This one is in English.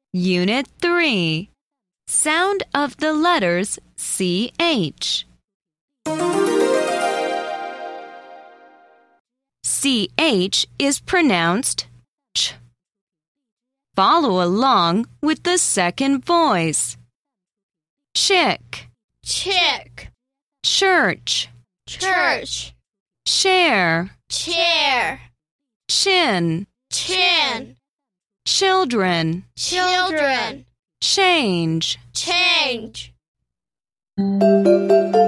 Unit 3. Sound of the letters CH. CH is pronounced ch. Follow along with the second voice. Chick, chick, church, church, share, chair, chin, chin, children, children, change. change.